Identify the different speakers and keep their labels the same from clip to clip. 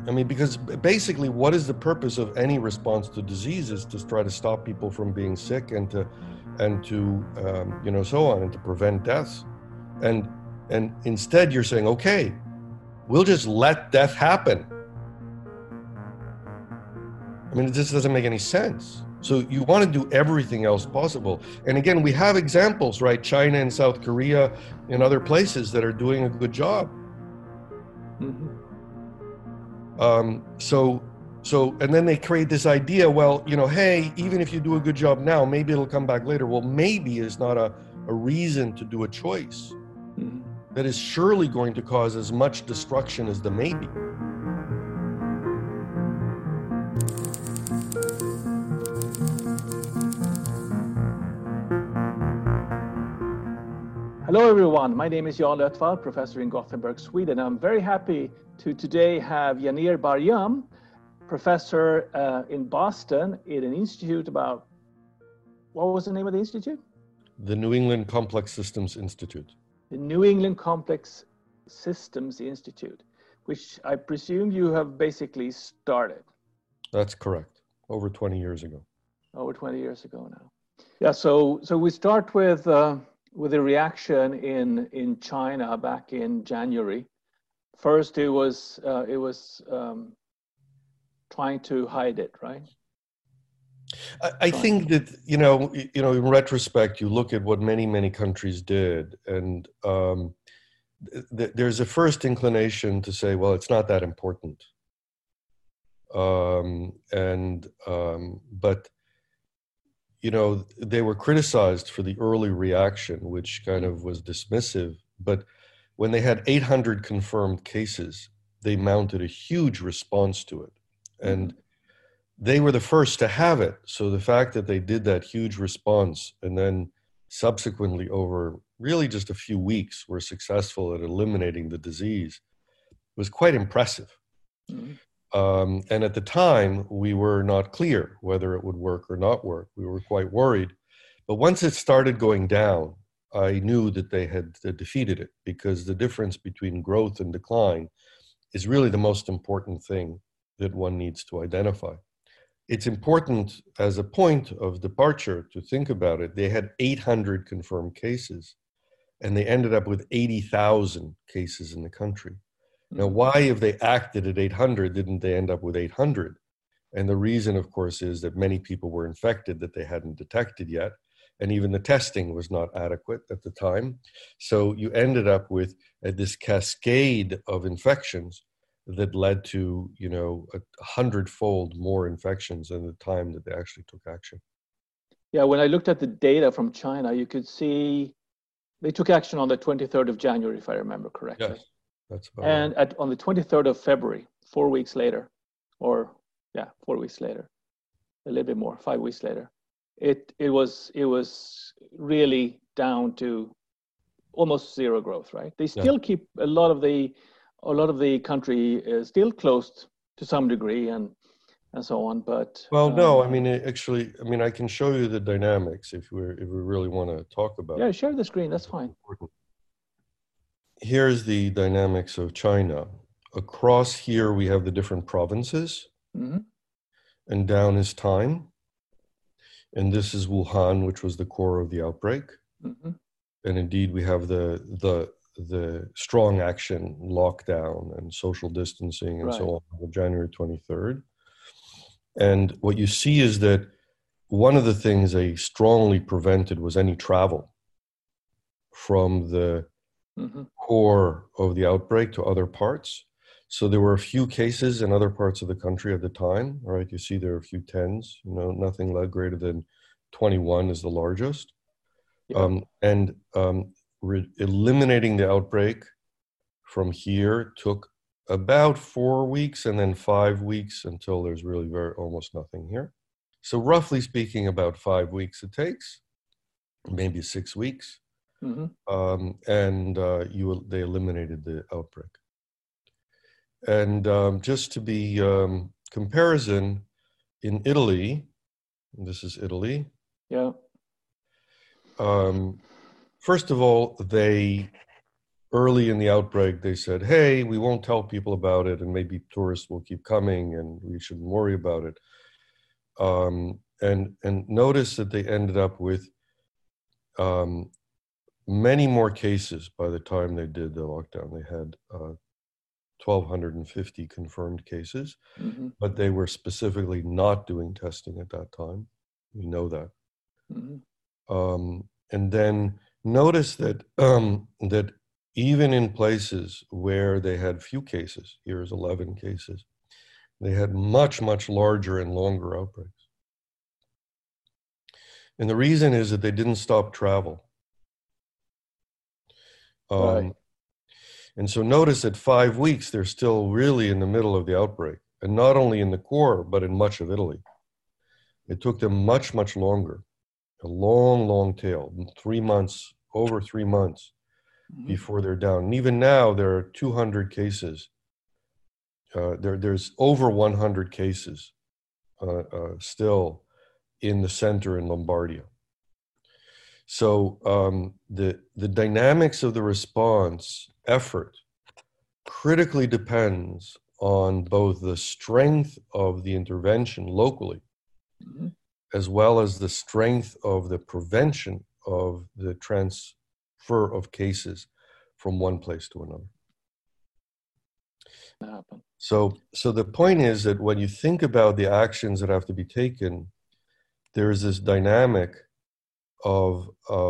Speaker 1: I mean, because basically, what is the purpose of any response to disease is to try to stop people from being sick and to so on, and to prevent deaths. And instead, you're saying, okay, we'll just let death happen. I mean, it just doesn't make any sense. So you want to do everything else possible. And again, we have examples, right? China and South Korea and other places that are doing a good job.
Speaker 2: Mm-hmm.
Speaker 1: And then they create this idea, well, hey, even if you do a good job now, maybe it'll come back later. Well, maybe is not a reason to do a choice that is surely going to cause as much destruction as the maybe.
Speaker 2: Hello, everyone. My name is Jan Lötvall, professor in Gothenburg, Sweden. I'm very happy to today have Yanir Bar-Yam, professor in Boston in an institute about, what was the name of the institute?
Speaker 1: The New England Complex Systems Institute.
Speaker 2: The New England Complex Systems Institute, which I presume you have basically started.
Speaker 1: That's correct. Over 20 years ago.
Speaker 2: Over 20 years ago now. Yeah, so we start with a reaction in China back in January. First, it was trying to hide it, right?
Speaker 1: I think that in retrospect, you look at what many countries did, and there's a first inclination to say, well, it's not that important. But they were criticized for the early reaction, which kind of was dismissive. But when they had 800 confirmed cases, they mounted a huge response to it. And they were the first to have it. So the fact that they did that huge response and then subsequently over really just a few weeks were successful at eliminating the disease was quite impressive. And at the time, we were not clear whether it would work or not work. We were quite worried. But once it started going down, I knew that they had defeated it, because the difference between growth and decline is really the most important thing that one needs to identify. It's important as a point of departure to think about it. They had 800 confirmed cases, and they ended up with 80,000 cases in the country. Now, why, if they acted at 800, didn't they end up with 800? And the reason, of course, is that many people were infected that they hadn't detected yet. And even the testing was not adequate at the time. So you ended up with this cascade of infections that led to, 100-fold more infections than the time that they actually took action.
Speaker 2: Yeah, when I looked at the data from China, you could see they took action on the 23rd of January, if I remember correctly.
Speaker 1: Yes, that's about
Speaker 2: and
Speaker 1: right.
Speaker 2: on the 23rd of February, 4 weeks later, a little bit more, 5 weeks later, it was really down to almost zero growth, right? They still keep a lot of the country is still closed to some degree and so on, but
Speaker 1: no, I mean, I can show you the dynamics if we really want to talk about it.
Speaker 2: Yeah, share the screen, that's fine.
Speaker 1: Here's the dynamics of China. Across here we have the different provinces, and down is time. And this is Wuhan, which was the core of the outbreak. And indeed, we have the strong action, lockdown, and social distancing, and so on, on January 23rd. And what you see is that one of the things they strongly prevented was any travel from the core of the outbreak to other parts. So there were a few cases in other parts of the country at the time, right? You see there are a few tens, nothing greater than 21 is the largest. Eliminating the outbreak from here took about 4 weeks, and then 5 weeks until there's really almost nothing here. So roughly speaking, about 5 weeks it takes, maybe 6 weeks. They eliminated the outbreak. And just to be comparison, in Italy, this is Italy.
Speaker 2: Yeah.
Speaker 1: First of all, they early in the outbreak, they said, hey, we won't tell people about it, and maybe tourists will keep coming and we shouldn't worry about it. And notice that they ended up with many more cases by the time they did the lockdown. They had 1,250 confirmed cases,
Speaker 2: Mm-hmm.
Speaker 1: but they were specifically not doing testing at that time. We know that.
Speaker 2: Mm-hmm.
Speaker 1: And then notice that that even in places where they had few cases, here's 11 cases, they had much, much larger and longer outbreaks. And the reason is that they didn't stop travel.
Speaker 2: Right.
Speaker 1: And so notice at 5 weeks, they're still really in the middle of the outbreak, and not only in the core, but in much of Italy. It took them much, much longer, a long, long tail, 3 months, over 3 months before they're down. And even now, there are 200 cases. There's over 100 cases still in the center in Lombardia. So the dynamics of the response effort critically depends on both the strength of the intervention locally, as well as the strength of the prevention of the transfer of cases from one place to another. So the point is that when you think about the actions that have to be taken, there is this dynamic of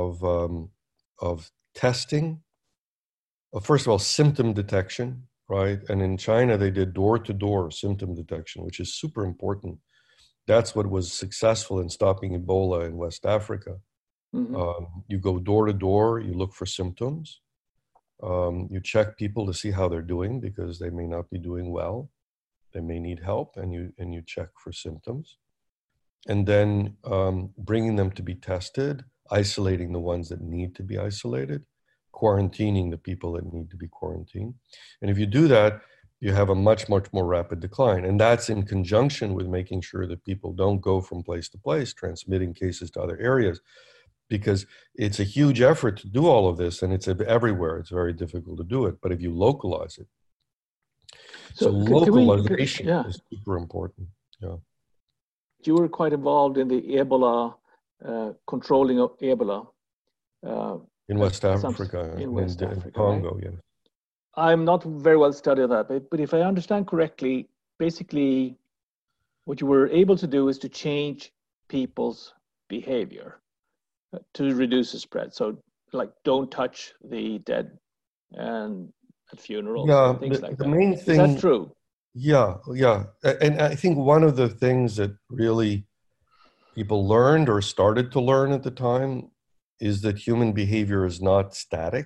Speaker 1: testing. First of all, symptom detection, right? And in China, they did door-to-door symptom detection, which is super important. That's what was successful in stopping Ebola in West Africa. You go door to door, you look for symptoms. You check people to see how they're doing because they may not be doing well. They may need help, and you check for symptoms. And then bringing them to be tested, isolating the ones that need to be isolated, quarantining the people that need to be quarantined. And if you do that, you have a much, much more rapid decline. And that's in conjunction with making sure that people don't go from place to place, transmitting cases to other areas, because it's a huge effort to do all of this, and it's everywhere. It's very difficult to do it. But if you localize it, so localization is super important. Yeah.
Speaker 2: You were quite involved in the Ebola, controlling of Ebola.
Speaker 1: In West Africa, in Congo,
Speaker 2: right? Yes. I'm not very well studied that, but if I understand correctly, basically what you were able to do is to change people's behavior to reduce the spread. So like don't touch the dead and at funerals and things like that. Main thing, is that true?
Speaker 1: Yeah. And I think one of the things that really people learned or started to learn at the time is that human behavior is not static.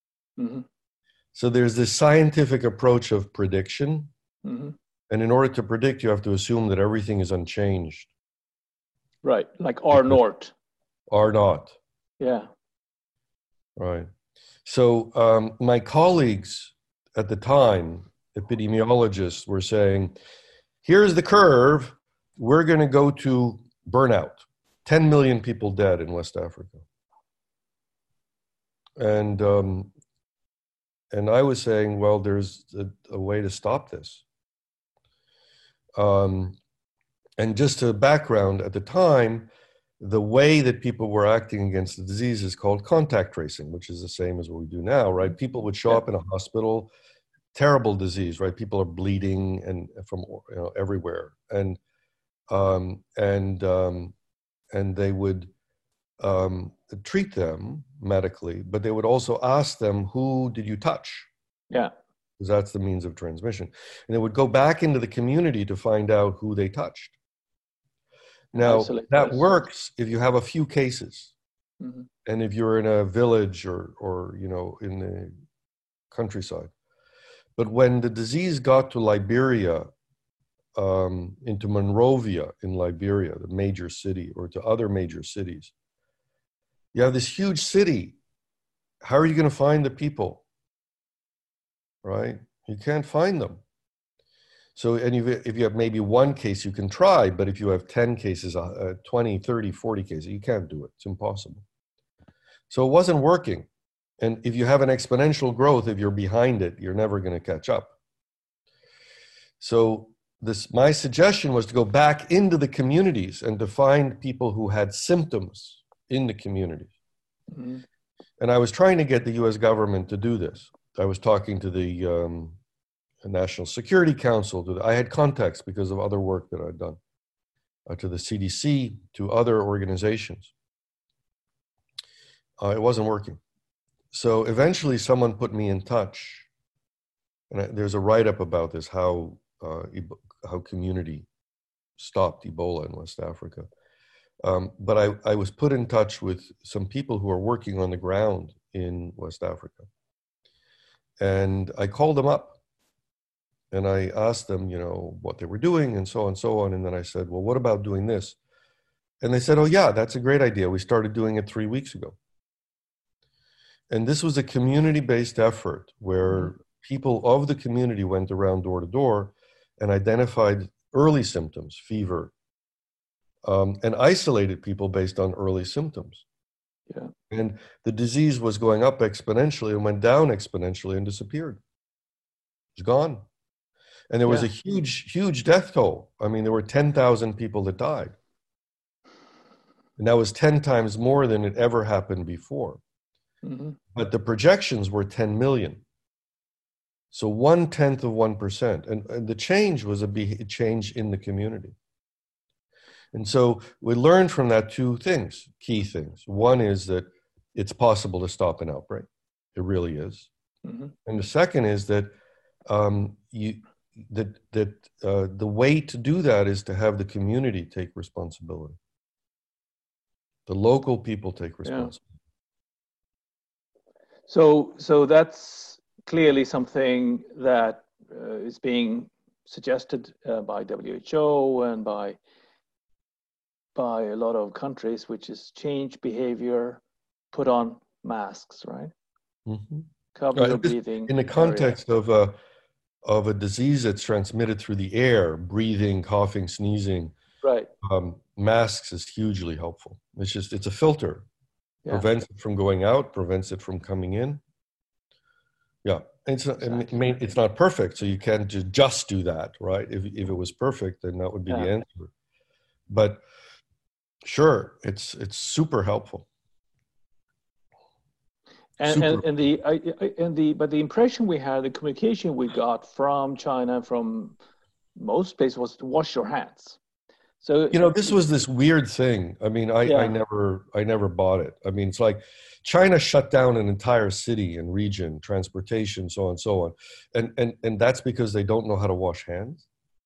Speaker 1: So there's this scientific approach of prediction. And in order to predict, you have to assume that everything is unchanged.
Speaker 2: Right, like R naught.
Speaker 1: R naught.
Speaker 2: Yeah.
Speaker 1: Right. So my colleagues at the time, epidemiologists, were saying, here's the curve. We're going to go to burnout. 10 million people dead in West Africa. And I was saying, well, there's a way to stop this. And just to background, at the time, the way that people were acting against the disease is called contact tracing, which is the same as what we do now, right? People would show up in a hospital, terrible disease, right? People are bleeding and from everywhere, and they would treat them medically, but they would also ask them, who did you touch?
Speaker 2: Yeah.
Speaker 1: Because that's the means of transmission. And they would go back into the community to find out who they touched. Now, that works if you have a few cases. And if you're in a village or in the countryside. But when the disease got to Liberia, into Monrovia in Liberia, the major city, or to other major cities, you have this huge city. How are you going to find the people? Right? You can't find them. So, and if you have maybe one case, you can try, but if you have 10 cases, 20, 30, 40 cases, you can't do it. It's impossible. So it wasn't working. And if you have an exponential growth, if you're behind it, you're never going to catch up. So my suggestion was to go back into the communities and to find people who had symptoms in the communities. Mm-hmm. And I was trying to get the US government to do this. I was talking to the National Security Council. I had contacts because of other work that I'd done, to the CDC, to other organizations. It wasn't working. So eventually someone put me in touch. And there's a write-up about this, how community stopped Ebola in West Africa. But I was put in touch with some people who are working on the ground in West Africa. And I called them up and I asked them, what they were doing and so on and so on. And then I said, well, what about doing this? And they said, oh yeah, that's a great idea. We started doing it 3 weeks ago. And this was a community-based effort where people of the community went around door to door and identified early symptoms, fever, and isolated people based on early symptoms.
Speaker 2: Yeah.
Speaker 1: And the disease was going up exponentially and went down exponentially and disappeared. It's gone. And there was a huge, huge death toll. I mean, there were 10,000 people that died. And that was 10 times more than it ever happened before. Mm-hmm. But the projections were 10 million. So 1/10 of 1%. And the change was a change in the community. And so we learned from that two things, key things. One is that it's possible to stop an outbreak. It really is. Mm-hmm. And the second is that the way to do that is to have the community take responsibility. The local people take responsibility.
Speaker 2: Yeah. So that's clearly something that is being suggested by WHO and by a lot of countries, which is change behavior, put on masks, right?
Speaker 1: Mm-hmm.
Speaker 2: Cover your breathing.
Speaker 1: In the context of a disease that's transmitted through the air, breathing, coughing, sneezing,
Speaker 2: right?
Speaker 1: Masks is hugely helpful. It's a filter. Yeah. Prevents it from going out, prevents it from coming in. Yeah, it's not perfect, so you can't just do that, right? If it was perfect, then that would be the answer. But sure, it's super helpful.
Speaker 2: But the impression we had, the communication we got from China, from most places, was to wash your hands. So
Speaker 1: this was this weird thing. I mean, I never bought it. I mean, it's like China shut down an entire city and region, transportation, so on and so on, and that's because they don't know how to wash hands.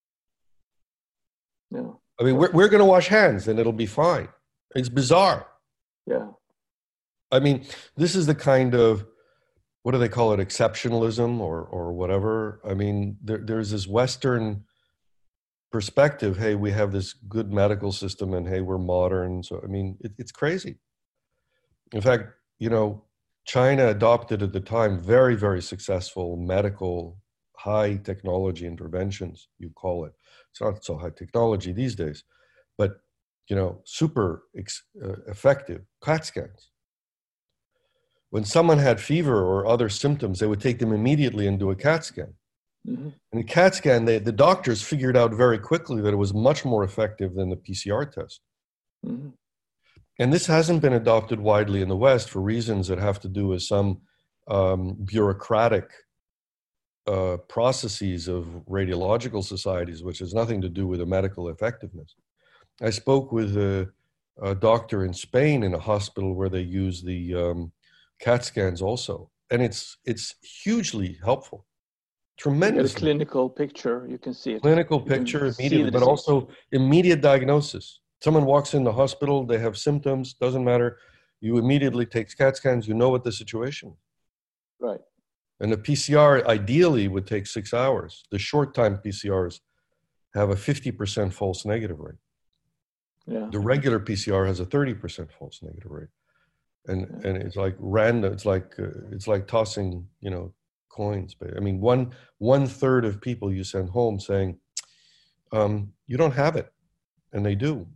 Speaker 2: No.
Speaker 1: I mean, we're going to wash hands and it'll be fine. It's bizarre.
Speaker 2: Yeah.
Speaker 1: I mean, this is the kind of, what do they call it, exceptionalism or whatever. I mean, there's this Western perspective. Hey, we have this good medical system and hey, we're modern. So, I mean, it's crazy. In fact, China adopted at the time very, very successful medical high technology interventions, you call it. It's not so high technology these days, but, super effective CAT scans. When someone had fever or other symptoms, they would take them immediately and do a CAT scan. Mm-hmm. And the CAT scan, the doctors figured out very quickly that it was much more effective than the PCR test. Mm-hmm. And this hasn't been adopted widely in the West for reasons that have to do with some bureaucratic processes of radiological societies, which has nothing to do with the medical effectiveness. I spoke with a doctor in Spain in a hospital where they use the CAT scans also, and it's hugely helpful. Tremendous
Speaker 2: clinical picture, you can see it.
Speaker 1: Clinical picture immediately, but also immediate diagnosis. Someone walks in the hospital, they have symptoms, doesn't matter. You immediately take CAT scans, you know what the situation is.
Speaker 2: Right.
Speaker 1: And the PCR ideally would take 6 hours. The short time PCRs have a 50% false negative rate.
Speaker 2: Yeah.
Speaker 1: The regular PCR has a 30% false negative rate. And it's like random. It's like tossing, coins. I mean, one third of people you send home saying, you don't have it, and they do.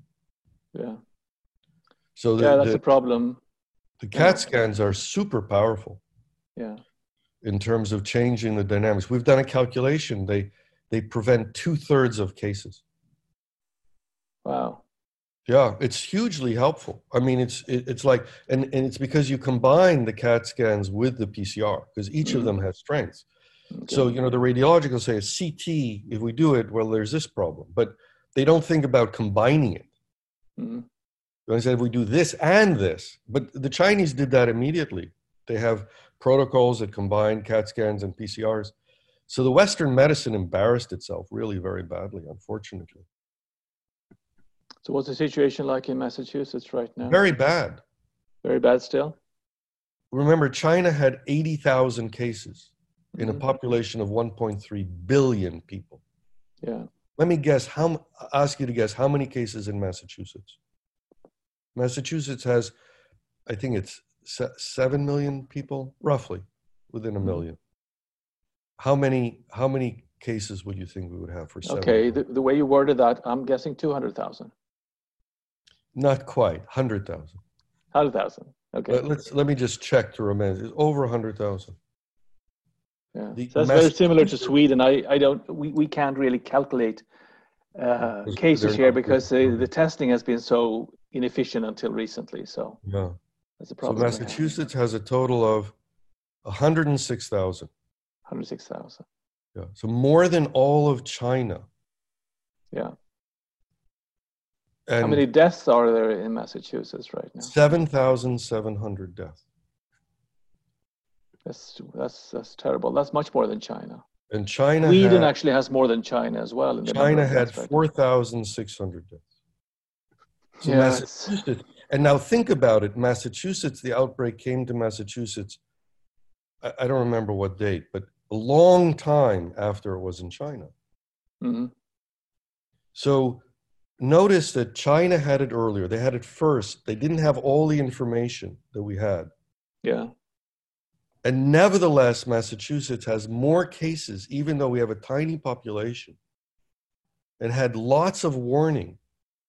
Speaker 2: Yeah.
Speaker 1: So
Speaker 2: that's a problem.
Speaker 1: The CAT scans are super powerful.
Speaker 2: Yeah.
Speaker 1: In terms of changing the dynamics. We've done a calculation. They prevent 2/3 of cases.
Speaker 2: Wow.
Speaker 1: Yeah, it's hugely helpful. I mean, it's like, and it's because you combine the CAT scans with the PCR, because each of them has strengths.
Speaker 2: Okay.
Speaker 1: So, the radiologist will say a CT, if we do it, well, there's this problem, but they don't think about combining it. They said, if we do this and this, but the Chinese did that immediately. They have protocols that combine CAT scans and PCRs. So the Western medicine embarrassed itself really very badly, unfortunately.
Speaker 2: So what's the situation like in Massachusetts right now?
Speaker 1: Very bad.
Speaker 2: Very bad still?
Speaker 1: Remember, China had 80,000 cases in a population of 1.3 billion people.
Speaker 2: Yeah.
Speaker 1: Let me ask you to guess how many cases in Massachusetts. Massachusetts has, I think it's 7 million people, roughly, within a million. How many cases would you think we would have for 7
Speaker 2: Okay,
Speaker 1: million?
Speaker 2: the way you worded that, I'm guessing 200,000.
Speaker 1: Not quite, 100,000.
Speaker 2: 100,000. Okay.
Speaker 1: Let me just check to remind. It's over 100,000.
Speaker 2: Yeah. So that's very similar to Sweden. We can't really calculate cases here because the testing has been so inefficient until recently. So
Speaker 1: yeah,
Speaker 2: that's a problem.
Speaker 1: So Massachusetts has a total of 106,000.
Speaker 2: 106,000.
Speaker 1: Yeah, so more than all of China.
Speaker 2: Yeah.
Speaker 1: And
Speaker 2: how many deaths are there in Massachusetts right now?
Speaker 1: 7,700 deaths.
Speaker 2: That's terrible. That's much more than China.
Speaker 1: And China
Speaker 2: Sweden actually has more than China as well.
Speaker 1: China had 4,600 deaths. So
Speaker 2: yeah,
Speaker 1: Massachusetts, and now think about it. Massachusetts, the outbreak came to Massachusetts, I don't remember what date, but a long time after it was in China. So notice that China had it earlier. They had it first. They didn't have all the information that we had.
Speaker 2: Yeah.
Speaker 1: And nevertheless, Massachusetts has more cases, even though we have a tiny population, and had lots of warning.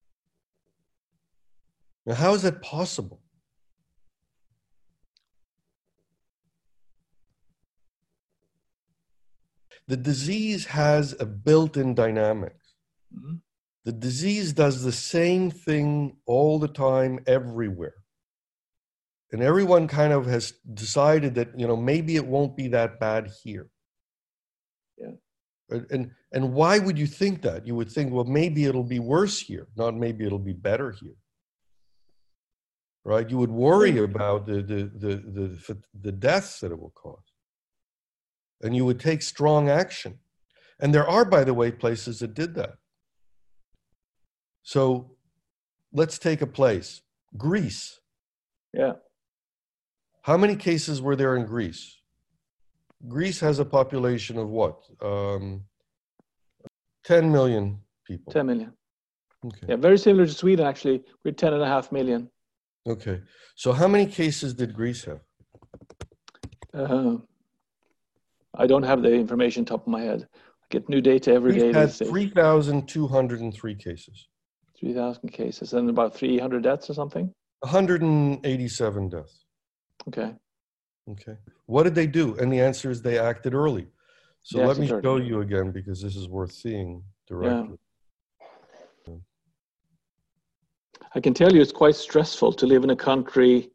Speaker 1: Now, how is that possible? The disease has a built-in dynamics. The disease does the same thing all the time, everywhere. And everyone kind of has decided that, maybe it won't be that bad here.
Speaker 2: Yeah.
Speaker 1: And why would you think that? You would think, well, maybe it'll be worse here, not maybe it'll be better here. Right? You would worry about the deaths that it will cause. And you would take strong action. And there are, by the way, places that did that. So let's take a place, Greece.
Speaker 2: Yeah.
Speaker 1: How many cases were there in Greece? Greece has a population of what? 10 million people.
Speaker 2: 10 million.
Speaker 1: Okay.
Speaker 2: Yeah, very similar to Sweden, actually. We're 10.5 million.
Speaker 1: Okay. So how many cases did Greece have?
Speaker 2: I don't have the information top of my head. I get new data every day.
Speaker 1: Greece had 3,203 cases.
Speaker 2: 3,000 cases and about 300 deaths or something?
Speaker 1: 187 deaths.
Speaker 2: Okay.
Speaker 1: Okay. What did they do? And the answer is they acted early. So let me show you again, because this is worth seeing directly.
Speaker 2: Yeah. I can tell you it's quite stressful to live in a country,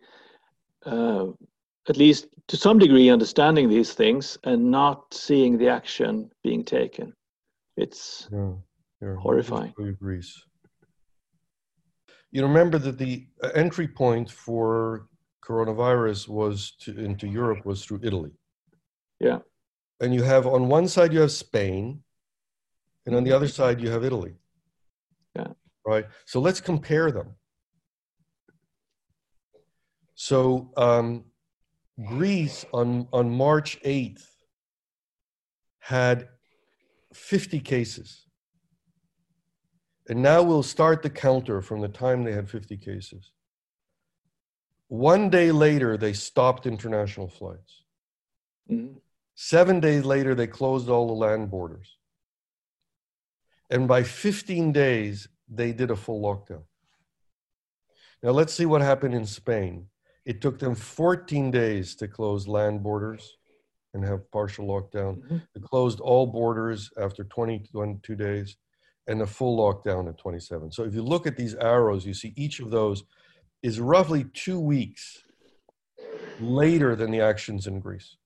Speaker 2: at least to some degree, understanding these things and not seeing the action being taken. It's horrifying.
Speaker 1: Greece. You remember that the entry point for coronavirus into Europe was through Italy.
Speaker 2: Yeah.
Speaker 1: And you have, on one side, you have Spain, and on the other side, you have Italy.
Speaker 2: Yeah.
Speaker 1: Right? So let's compare them. So Greece on March 8th had 50 cases. And now we'll start the counter from the time they had 50 cases. One day later, they stopped international flights. 7 days later, they closed all the land borders. And by 15 days, they did a full lockdown. Now let's see what happened in Spain. It took them 14 days to close land borders and have partial lockdown.
Speaker 2: Mm-hmm.
Speaker 1: They closed all borders after 22 days and a full lockdown at 27. So if you look at these arrows, you see each of those is roughly 2 weeks later than the actions in Greece.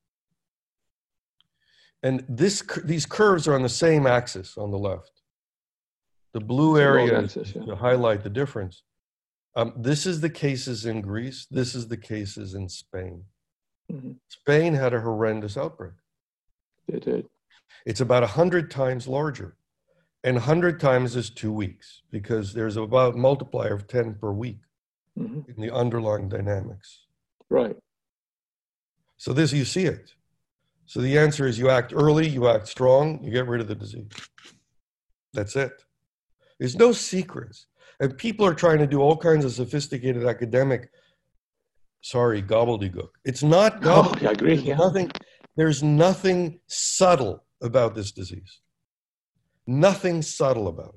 Speaker 1: And these curves are on the same axis on the left. The blue area is to highlight the difference. This is the cases in Greece. This is the cases in Spain.
Speaker 2: Mm-hmm.
Speaker 1: Spain had a horrendous outbreak.
Speaker 2: They did.
Speaker 1: It's about 100 times larger. And 100 times is 2 weeks because there's about a multiplier of 10 per week in the underlying dynamics.
Speaker 2: Right.
Speaker 1: So this, you see it. So the answer is you act early, you act strong, you get rid of the disease. That's it. There's no secrets. And people are trying to do all kinds of sophisticated academic, gobbledygook. It's not gobbledygook.
Speaker 2: I agree.
Speaker 1: There's nothing subtle about this disease. Nothing subtle about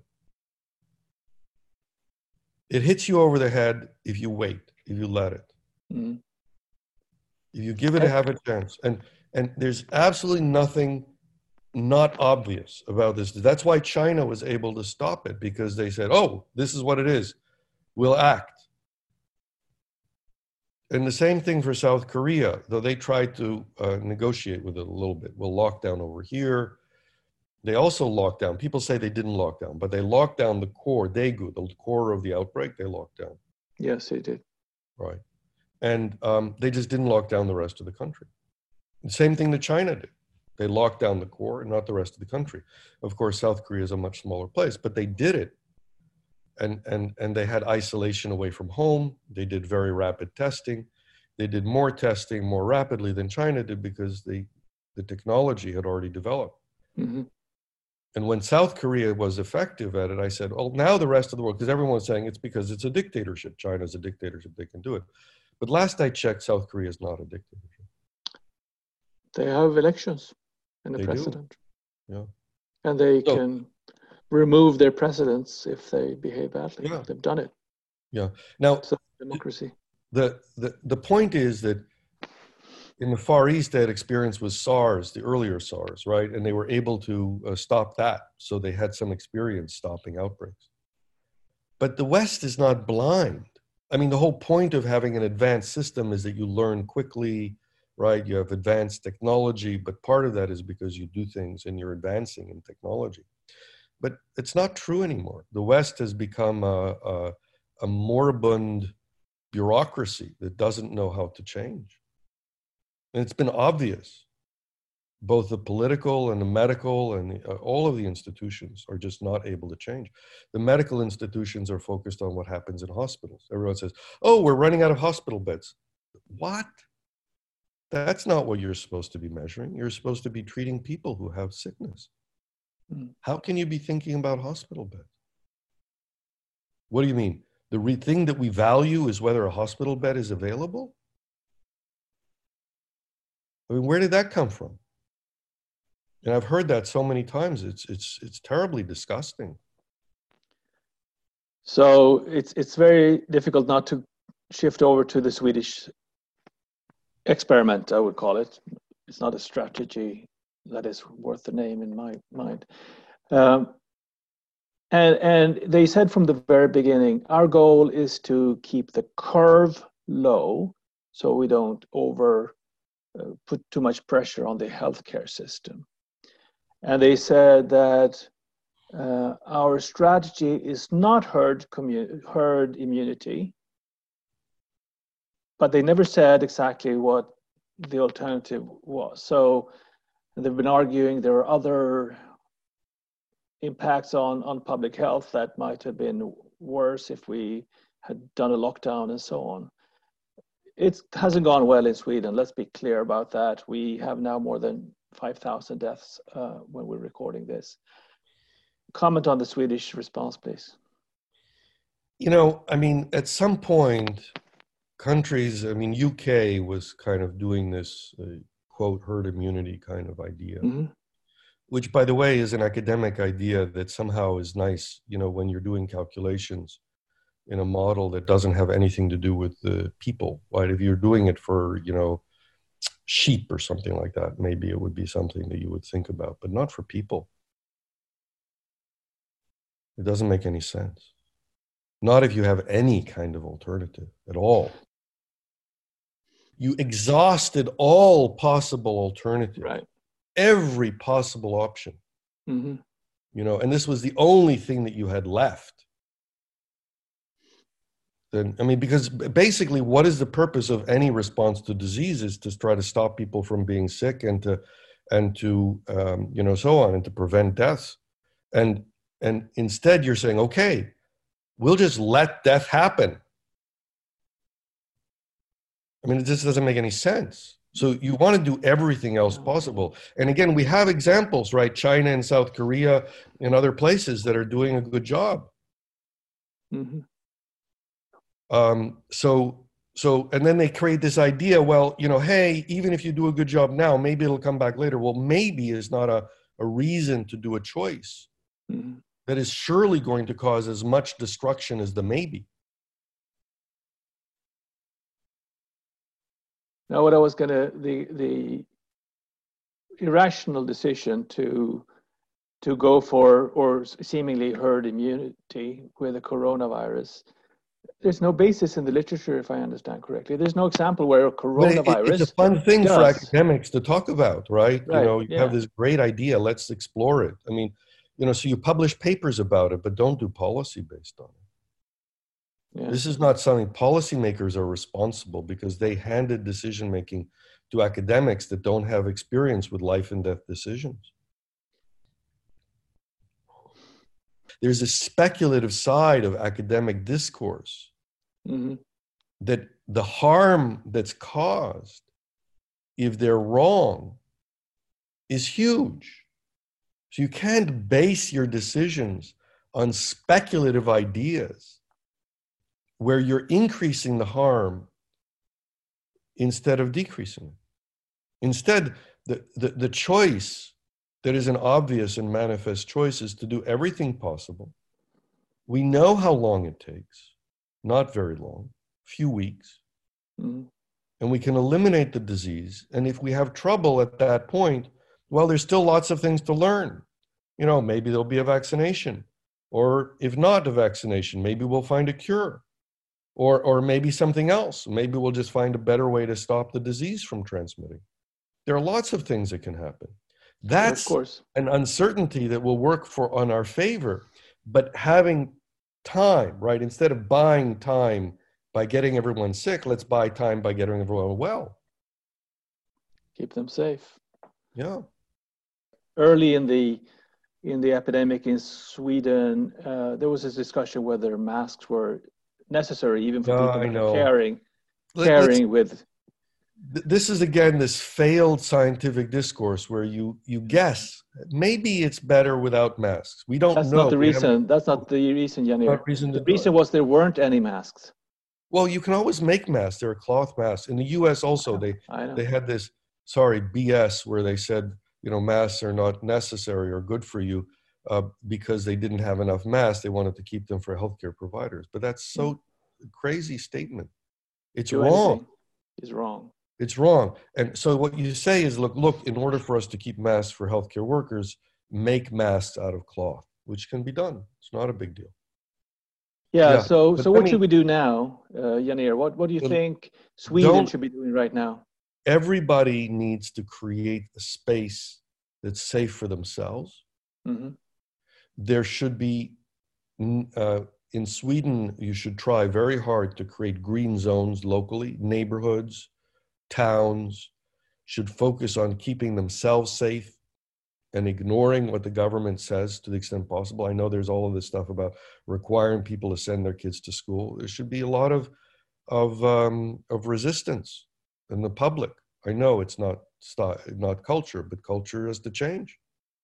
Speaker 1: it. It hits you over the head if you wait, if you let it.
Speaker 2: Mm-hmm.
Speaker 1: If you give it half a chance. And there's absolutely nothing not obvious about this. That's why China was able to stop it, because they said, oh, this is what it is. We'll act. And the same thing for South Korea, though they tried to negotiate with it a little bit. We'll lock down over here. They also locked down. People say they didn't lock down, but they locked down the core, Daegu, the core of the outbreak, they locked down.
Speaker 2: Yes, they did.
Speaker 1: Right. And they just didn't lock down the rest of the country. The same thing that China did. They locked down the core and not the rest of the country. Of course, South Korea is a much smaller place, but they did it. And they had isolation away from home. They did very rapid testing. They did more testing more rapidly than China did because the technology had already developed.
Speaker 2: Mm-hmm.
Speaker 1: And when South Korea was effective at it, I said, well, now the rest of the world, because everyone was saying it's because it's a dictatorship. China's a dictatorship, they can do it. But last I checked, South Korea is not a dictatorship.
Speaker 2: They have elections and a president. Yeah. And they can remove their presidents if they behave badly. Yeah. They've done it.
Speaker 1: Yeah. Now,
Speaker 2: it's a democracy.
Speaker 1: The point is that in the Far East, they had experience with SARS, the earlier SARS, right? And they were able to stop that. So they had some experience stopping outbreaks. But the West is not blind. I mean, the whole point of having an advanced system is that you learn quickly, right? You have advanced technology, but part of that is because you do things and you're advancing in technology. But it's not true anymore. The West has become a moribund bureaucracy that doesn't know how to change. And it's been obvious. Both the political and the medical and all of the institutions are just not able to change. The medical institutions are focused on what happens in hospitals. Everyone says, oh, we're running out of hospital beds. What? That's not what you're supposed to be measuring. You're supposed to be treating people who have sickness. How can you be thinking about hospital beds? What do you mean? The thing that we value is whether a hospital bed is available? I mean, where did that come from? And I've heard that so many times. It's terribly disgusting.
Speaker 2: So it's very difficult not to shift over to the Swedish experiment, I would call it. It's not a strategy that is worth the name in my mind. And they said from the very beginning, our goal is to keep the curve low so we don't put too much pressure on the healthcare system. And they said that our strategy is not herd immunity, but they never said exactly what the alternative was. So they've been arguing there are other impacts on public health that might have been worse if we had done a lockdown and so on. It hasn't gone well in Sweden. Let's be clear about that. We have now more than 5,000 deaths when we're recording this. Comment on the Swedish response, please.
Speaker 1: You know, I mean, at some point, countries, I mean, UK was kind of doing this, quote, herd immunity kind of idea, which, by the way, is an academic idea that somehow is nice, you know, when you're doing calculations. in a model that doesn't have anything to do with the people, right? If you're doing it for, sheep or something like that, maybe it would be something that you would think about, but not for people. It doesn't make any sense. Not if you have any kind of alternative at all. You exhausted all possible alternatives,
Speaker 2: right?
Speaker 1: Every possible option,
Speaker 2: Mm-hmm.
Speaker 1: And this was the only thing that you had left. Then, because basically, what is the purpose of any response to disease is to try to stop people from being sick and to so on, and to prevent deaths. And instead, you're saying, okay, we'll just let death happen. It just doesn't make any sense. So you want to do everything else possible. And again, we have examples, right? China and South Korea and other places that are doing a good job.
Speaker 2: Mm-hmm.
Speaker 1: So, and then they create this idea, well, hey, even if you do a good job now, maybe it'll come back later. Well, maybe is not a reason to do a choice that is surely going to cause as much destruction as the maybe.
Speaker 2: Now, what I was the irrational decision to go for, or seemingly herd immunity with the coronavirus, there's no basis in the literature, if I understand correctly. There's no example where a coronavirus.
Speaker 1: It's a fun thing for academics to talk about, right? You have this great idea. Let's explore it. So you publish papers about it, but don't do policy based on it. Yeah. This is not something policymakers are responsible, because they handed decision making to academics that don't have experience with life and death decisions. There's a speculative side of academic discourse that the harm that's caused if they're wrong is huge. So you can't base your decisions on speculative ideas where you're increasing the harm instead of decreasing it. Instead, the choice that is an obvious and manifest choice is to do everything possible. We know how long it takes, not very long, few weeks, and we can eliminate the disease. And if we have trouble at that point, well, there's still lots of things to learn. Maybe there'll be a vaccination, or if not a vaccination, maybe we'll find a cure. Or maybe something else. Maybe we'll just find a better way to stop the disease from transmitting. There are lots of things that can happen. That's an uncertainty that will work on our favor. But having time, right? Instead of buying time by getting everyone sick, let's buy time by getting everyone well.
Speaker 2: Keep them safe.
Speaker 1: Yeah.
Speaker 2: Early in the epidemic in Sweden, there was this discussion whether masks were necessary even for people that are caring with.
Speaker 1: This is again this failed scientific discourse where you guess maybe it's better without masks. We don't know.
Speaker 2: That's not the reason. That's not the reason, Janir. The reason was there weren't any masks.
Speaker 1: Well, you can always make masks. There are cloth masks. In the U.S. also, they had this BS where they said masks are not necessary or good for you. Because they didn't have enough masks, they wanted to keep them for healthcare providers. But that's so crazy statement. It's wrong.
Speaker 2: It's wrong.
Speaker 1: It's wrong. And so what you say is, look, in order for us to keep masks for healthcare workers, make masks out of cloth, which can be done. It's not a big deal.
Speaker 2: Yeah. So what should we do now, Janir? What do you think Sweden should be doing right now?
Speaker 1: Everybody needs to create a space that's safe for themselves. There should be, in Sweden, you should try very hard to create green zones locally. Neighborhoods, towns should focus on keeping themselves safe and ignoring what the government says to the extent possible. I know there's all of this stuff about requiring people to send their kids to school. There should be a lot of resistance in the public. I know it's not culture, but culture has to change.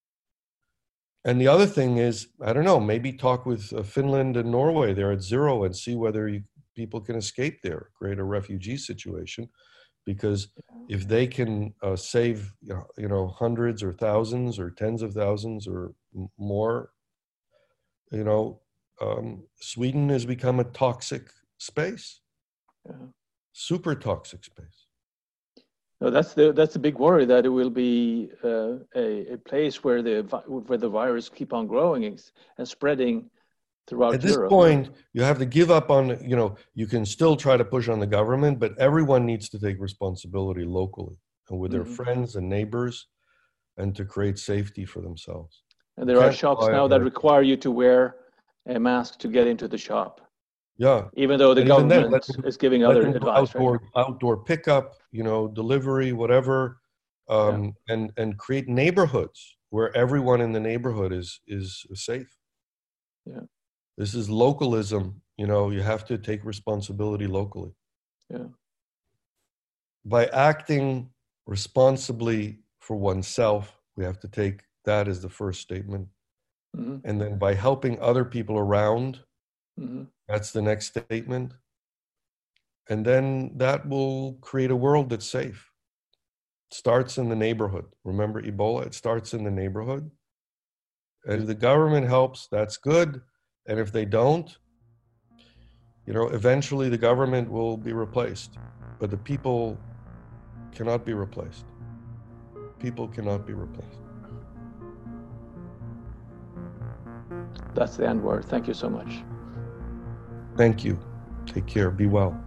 Speaker 1: And the other thing is, I don't know, maybe talk with Finland and Norway. They're at zero, and see whether people can escape there, create a refugee situation. Because if they can save, hundreds or thousands or tens of thousands or more, Sweden has become a toxic space, super toxic space.
Speaker 2: No, that's the big worry, that it will be a place where the virus keep on growing and spreading throughout
Speaker 1: At this
Speaker 2: Europe.
Speaker 1: point, you have to give up on, you can still try to push on the government, but everyone needs to take responsibility locally and with their friends and neighbors, and to create safety for themselves.
Speaker 2: And there are shops now that require you to wear a mask to get into the shop.
Speaker 1: Yeah.
Speaker 2: Even though the government is giving other advice.
Speaker 1: Outdoor pickup, delivery, whatever, and create neighborhoods where everyone in the neighborhood is safe.
Speaker 2: Yeah.
Speaker 1: This is localism. You have to take responsibility locally.
Speaker 2: Yeah.
Speaker 1: By acting responsibly for oneself, we have to take that as the first statement. And then by helping other people around, that's the next statement. And then that will create a world that's safe. It starts in the neighborhood. Remember Ebola? It starts in the neighborhood. And if the government helps, that's good. And if they don't, eventually the government will be replaced. But the people cannot be replaced. People cannot be replaced.
Speaker 2: That's the end word. Thank you so much.
Speaker 1: Thank you. Take care. Be well.